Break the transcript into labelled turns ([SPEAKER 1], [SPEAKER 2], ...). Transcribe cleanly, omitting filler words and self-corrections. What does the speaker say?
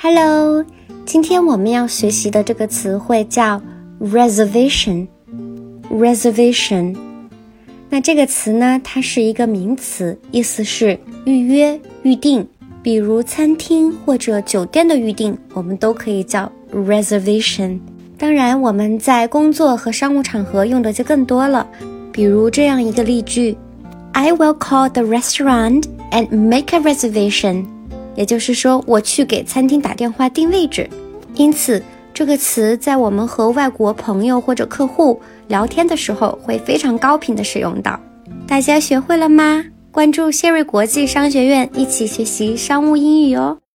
[SPEAKER 1] Hello， 今天我们要学习的这个词汇叫 reservation。那这个词呢，它是一个名词，意思是预约、预定，比如餐厅或者酒店的预定，我们都可以叫 reservation。当然，我们在工作和商务场合用的就更多了，比如这样一个例句 I will call the restaurant and make a reservation。也就是说，我去给餐厅打电话订位置。因此，这个词在我们和外国朋友或者客户聊天的时候会非常高频的使用到。大家学会了吗？关注谢瑞国际商学院，一起学习商务英语哦。